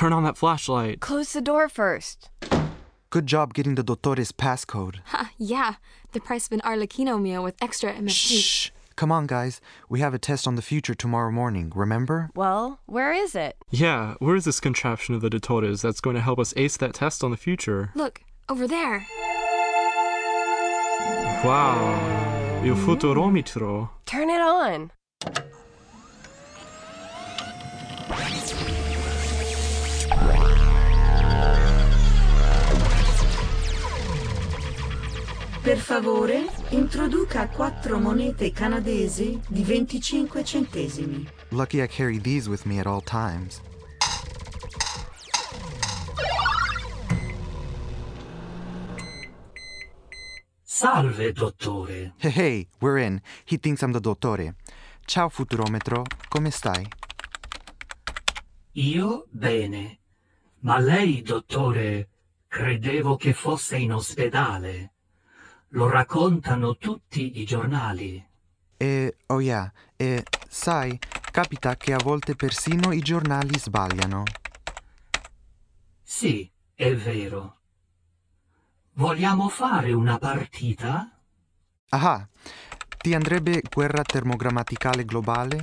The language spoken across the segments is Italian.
turn on that flashlight. Close the door first. Good job getting the Dottore's passcode. Yeah, the price of an Arlecchino meal with extra MSG. Shh! Come on, guys. We have a test on the future tomorrow morning, remember? Well, where is it? Yeah, where is this contraption of the Dottores that's going to help us ace that test on the future? Look, over there. Wow, il futurometro. Turn it on. Per favore, introduca 4 monete canadesi di 25 centesimi. Lucky I carry these with me at all times. Salve, dottore. Hey, we're in. He thinks I'm the Dottore. Ciao, futurometro. Come stai? Io bene. Ma lei, dottore, credevo che fosse in ospedale. Lo raccontano tutti i giornali. Oh yeah, sai, capita che a volte persino i giornali sbagliano. Sì, è vero. Vogliamo fare una partita? Ah, ti andrebbe guerra termogrammaticale globale?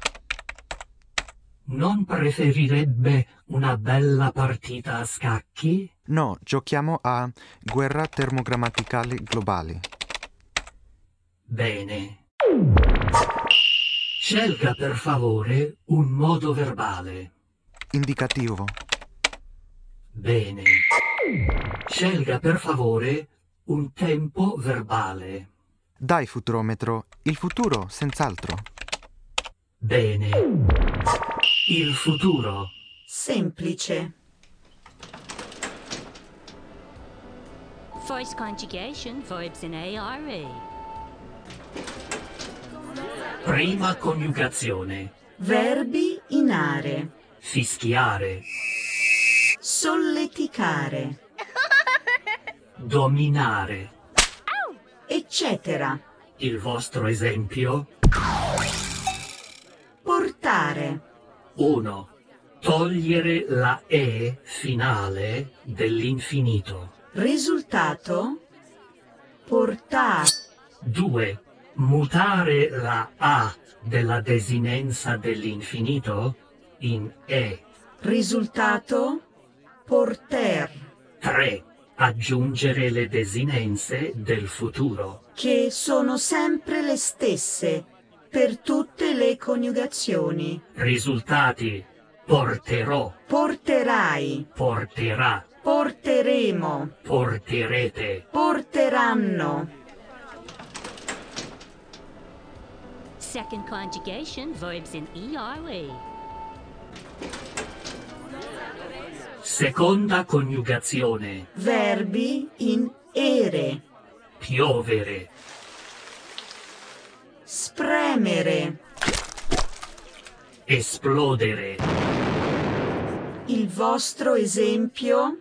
Non preferirebbe una bella partita a scacchi? No, giochiamo a guerra termogrammaticale globale. Bene. Scelga per favore un modo verbale. Indicativo. Bene. Scelga per favore un tempo verbale. Dai, futurometro, il futuro, senz'altro. Bene. Il futuro. Semplice. Voice conjugation, verbs in ARE. Prima coniugazione. Verbi in are. Fischiare. Solleticare. Dominare. Eccetera. Il vostro esempio? Portare. 1. Togliere la E finale dell'infinito. Risultato? Portare. 2. Mutare la A della desinenza dell'infinito in E. Risultato? Porter. 3. Aggiungere le desinenze del futuro. Che sono sempre le stesse per tutte le coniugazioni. Risultati: porterò, Porterai. porterà, Porteremo. porterete. Porteranno. Second conjugation, verbs in ERE. Seconda coniugazione. Verbi in ere. Piovere, Spremere. esplodere, Il vostro esempio?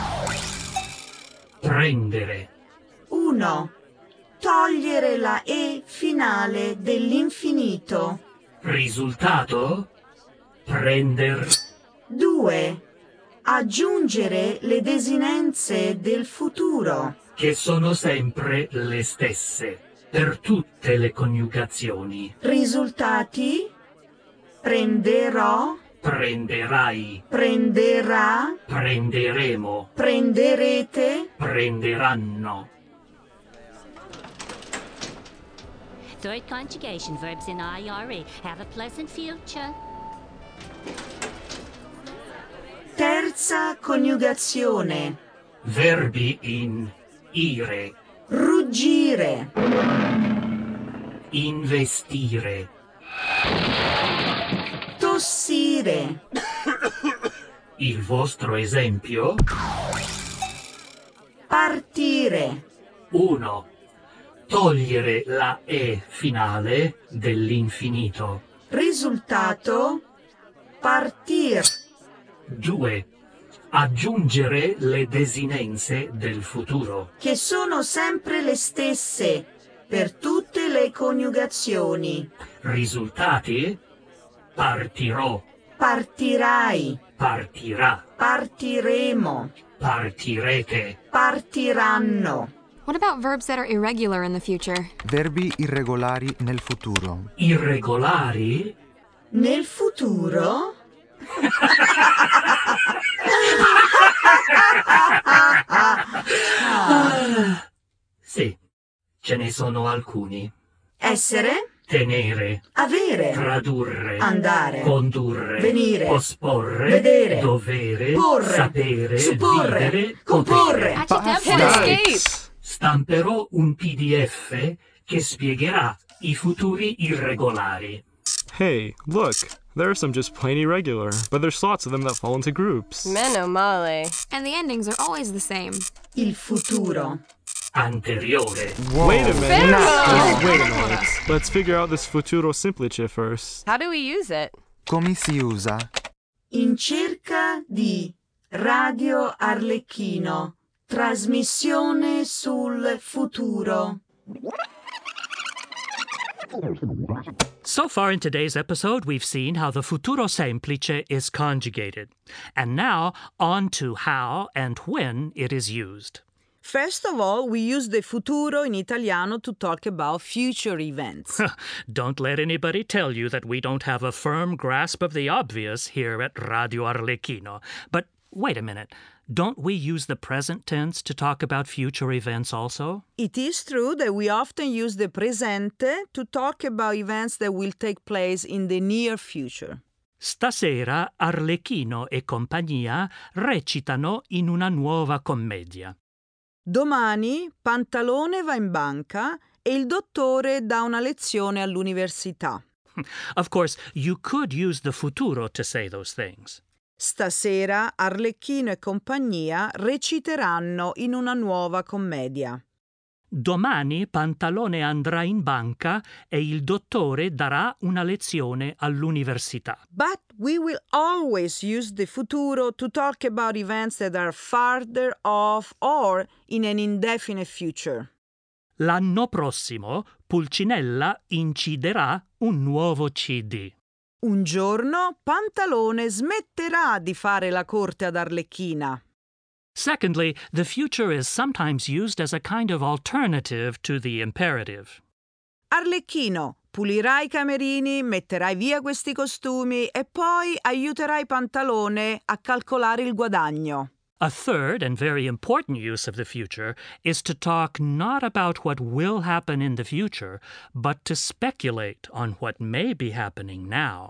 prendere, 1. Togliere la E finale dell'infinito. risultato? Prender, 2. Aggiungere le desinenze del futuro. che sono sempre le stesse per tutte le coniugazioni. Risultati? Prenderò, Prenderai, prenderà, prenderemo, prenderete. prenderanno. Third conjugation, verbs in IRE. Have a pleasant future. Terza coniugazione. Verbi in ire, Ruggire. investire, Tossire. il vostro esempio? Partire. 1. Togliere la E finale dell'infinito. Risultato? Partir. 2. Aggiungere le desinenze del futuro. Che sono sempre le stesse per tutte le coniugazioni. Risultati? Partirò, Partirai. Partirà. Partiremo. Partirete. Partiranno. What about verbs that are irregular in the future? Verbi irregolari nel futuro. Irregolari? Nel futuro? Sì, ce ne sono alcuni. Essere? Tenere. Avere. Tradurre. Andare. Condurre. Venire. Posporre. Vedere. Dovere. Porre. Sapere. Supporre. Vivere. Comporre. Nice. Stamperò un PDF che spiegherà i futuri irregolari. Hey, look. There are some just plain irregular, but there's lots of them that fall into groups. Meno male. And the endings are always the same. Il futuro. Anteriore. Wait a minute. Fermo! Wait a minute. Let's figure out this futuro simplice first. How do we use it? Come si usa? In cerca di Radio Arlecchino. Trasmissione sul futuro. So far in today's episode, we've seen how the futuro semplice is conjugated. And now, on to how and when it is used. First of all, we use the futuro in Italiano to talk about future events. Don't let anybody tell you that we don't have a firm grasp of the obvious here at Radio Arlecchino. But wait a minute. Don't we use the present tense to talk about future events also? It is true that we often use the presente to talk about events that will take place in the near future. Stasera Arlecchino e compagnia recitano in una nuova commedia. Domani Pantalone va in banca e il dottore dà una lezione all'università. Of course, you could use the futuro to say those things. Stasera Arlecchino e compagnia reciteranno in una nuova commedia. Domani Pantalone andrà in banca e il dottore darà una lezione all'università. But we will always use the futuro to talk about events that are farther off or in an indefinite future. L'anno prossimo Pulcinella inciderà un nuovo CD. Un giorno Pantalone smetterà di fare la corte ad Arlecchina. Secondly, the future is sometimes used as a kind of alternative to the imperative. Arlecchino, pulirai i camerini, metterai via questi costumi e poi aiuterai Pantalone a calcolare il guadagno. A third and very important use of the future is to talk not about what will happen in the future, but to speculate on what may be happening now.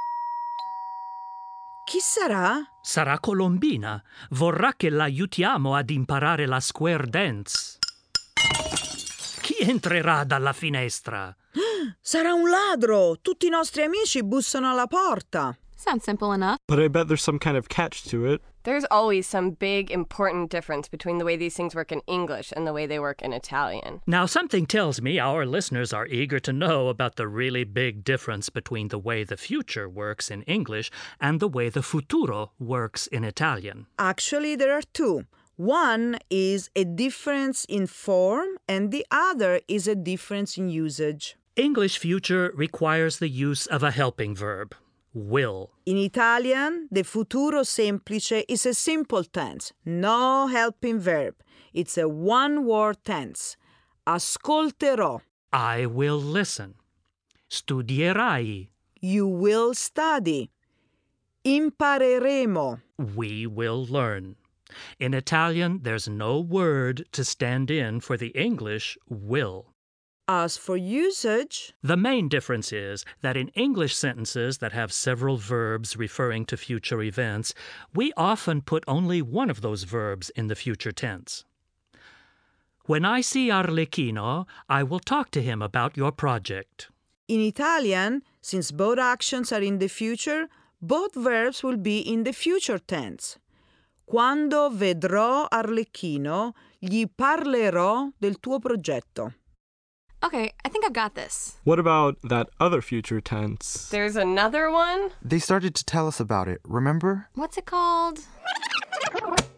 Chi sarà? Sarà Colombina. Vorrà che l'aiutiamo ad imparare la square dance. Chi entrerà dalla finestra? Sarà un ladro! Tutti i nostri amici bussano alla porta. Sounds simple enough. But I bet there's some kind of catch to it. There's always some big, important difference between the way these things work in English and the way they work in Italian. Now, something tells me our listeners are eager to know about the really big difference between the way the future works in English and the way the futuro works in Italian. Actually, there are two. One is a difference in form and the other is a difference in usage. English future requires the use of a helping verb, will. In Italian, the futuro semplice is a simple tense, no helping verb. It's a one-word tense. Ascolterò. I will listen. Studierai. You will study. Impareremo. We will learn. In Italian, there's no word to stand in for the English will. As for usage, The main difference is that in English sentences that have several verbs referring to future events, we often put only one of those verbs in the future tense. When I see Arlecchino, I will talk to him about your project. in Italian, since both actions are in the future, both verbs will be in the future tense. Quando vedrò Arlecchino, gli parlerò del tuo progetto. Okay, I think I've got this. What about that other future tense? There's another one? They started to tell us about it, remember? What's it called?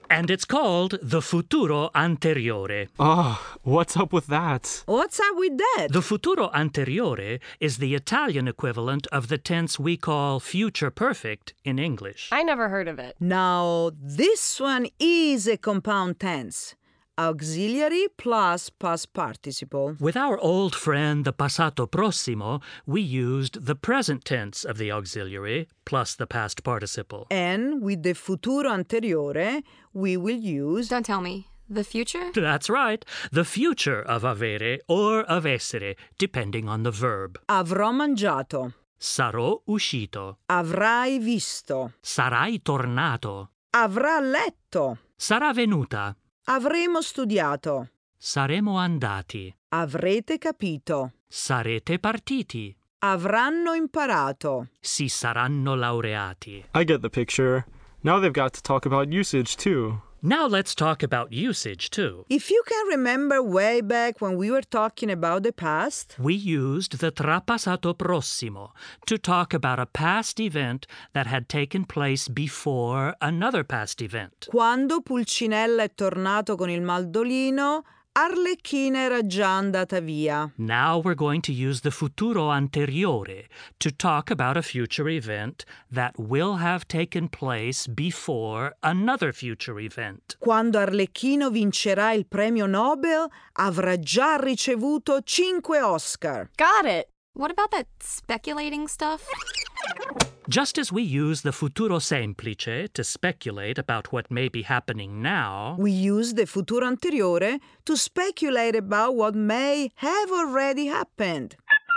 And it's called the futuro anteriore. Oh, what's up with that? What's up with that? The futuro anteriore is the Italian equivalent of the tense we call future perfect in English. I never heard of it. Now, this one is a compound tense. Auxiliary plus past participle. With our old friend the passato prossimo, we used the present tense of the auxiliary plus the past participle. And with the futuro anteriore, we will use... Don't tell me. The future? That's right, the future of avere or of essere, depending on the verb. Avrò mangiato. Sarò uscito. Avrai visto. Sarai tornato. Avrà letto. Sarà venuta. Avremo studiato. Saremo andati. Avrete capito. Sarete partiti. Avranno imparato. Si saranno laureati. I get the picture. Now they've got to talk about usage, too. Now let's talk about usage, too. If you can remember way back when we were talking about the past, We used the trapassato prossimo to talk about a past event that had taken place before another past event. quando Pulcinella è tornato con il mandolino, Arlecchina era già andata via. Now we're going to use the futuro anteriore to talk about a future event that will have taken place before another future event. Quando Arlecchino vincerà il premio Nobel, avrà già ricevuto 5 Oscar. Got it. What about that speculating stuff? Just as we use the futuro semplice to speculate about what may be happening now, We use the futuro anteriore to speculate about what may have already happened.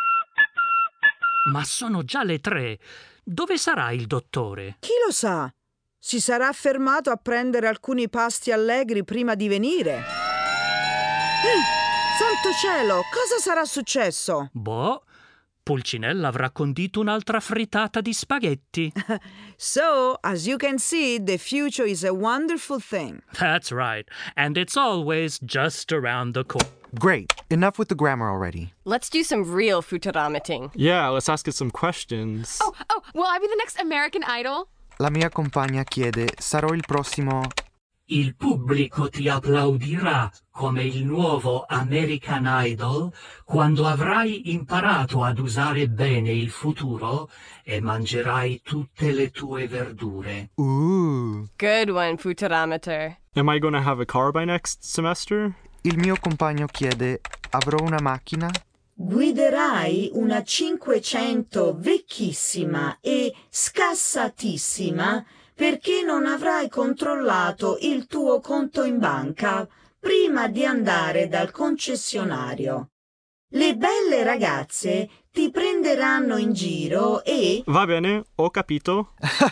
ma sono già le 3. Dove sarà il dottore? Chi lo sa? Si sarà fermato a prendere alcuni pasti allegri prima di venire. Santo cielo, cosa sarà successo? Boh, Pulcinella avrà condito un'altra frittata di spaghetti. So, as you can see, the future is a wonderful thing. That's right, and it's always just around the corner. Great. Enough with the grammar already. Let's do some real futuramating. Yeah, let's ask it some questions. Oh, will I be the next American Idol? La mia compagna chiede: sarò il prossimo? Il pubblico ti applaudirà come il nuovo American Idol quando avrai imparato ad usare bene il futuro e mangerai tutte le tue verdure. Good one, Futuramator. Am I going to have a car by next semester? Il mio compagno chiede: avrò una macchina? Guiderai una 500 vecchissima e scassatissima perché non avrai controllato il tuo conto in banca prima di andare dal concessionario. Le belle ragazze ti prenderanno in giro e... Va bene, ho capito.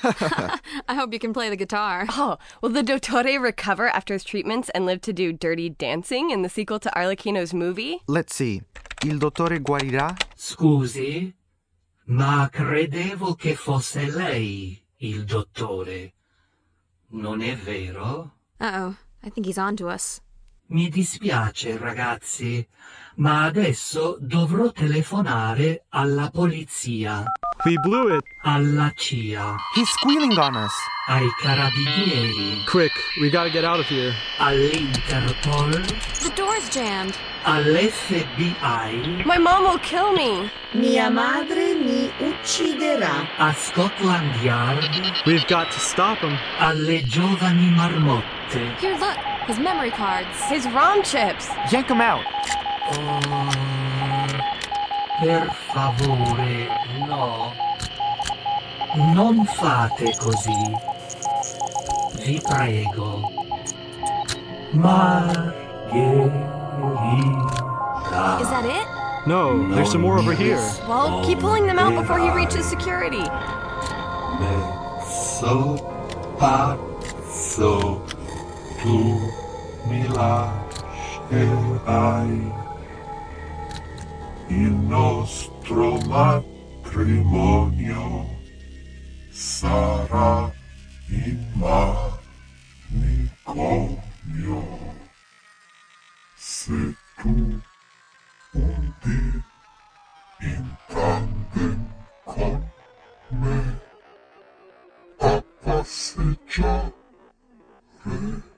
I hope you can play the guitar. Oh, will the dottore recover after his treatments and live to do Dirty Dancing in the sequel to Arlecchino's movie? Let's see. Il dottore guarirà? Scusi, ma credevo che fosse lei il dottore. Non è vero? Uh-oh, I think he's on to us. Mi dispiace, ragazzi, ma adesso dovrò telefonare alla polizia, We blew it. alla CIA, He's squealing on us. ai carabinieri, Quick, we gotta get out of here. all'Interpol, The door's jammed. all'FBI, My mom will kill me. Mia madre mi ucciderà. a Scotland Yard, We've got to stop him. alle giovani marmotte. Here, look. His memory cards. His ROM chips. Yank him out. Oh, per favore, no. Non fate così. Vi prego. Margherita. Is that it? No, there's some more over here. Well, keep pulling them out before he reaches security. Messo pazzo, tu mi lascerai. Il nostro matrimonio sarà in manicomio. Se tu un dì in tandem con me a passeggiare